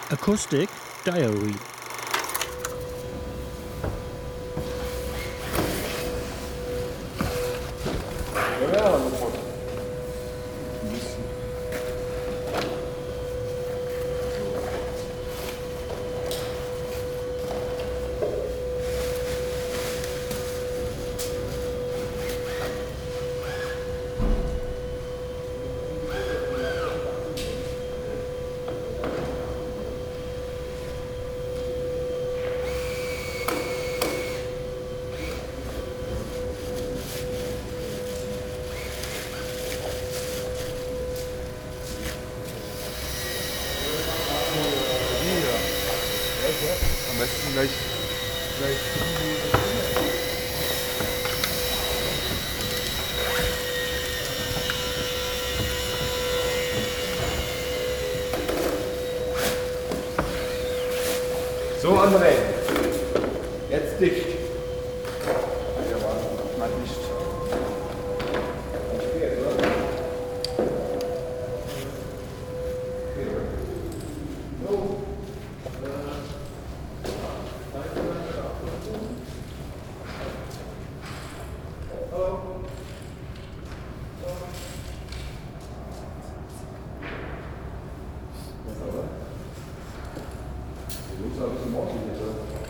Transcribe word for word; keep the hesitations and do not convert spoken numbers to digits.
Acoustic Diary. Ja, sofort. Am besten gleich, gleich. So, André. Jetzt dicht. Ja, warte, mal dicht. Nicht geht, oder? Geht, oder? So. Du musst ein bisschen ordentlich, oder?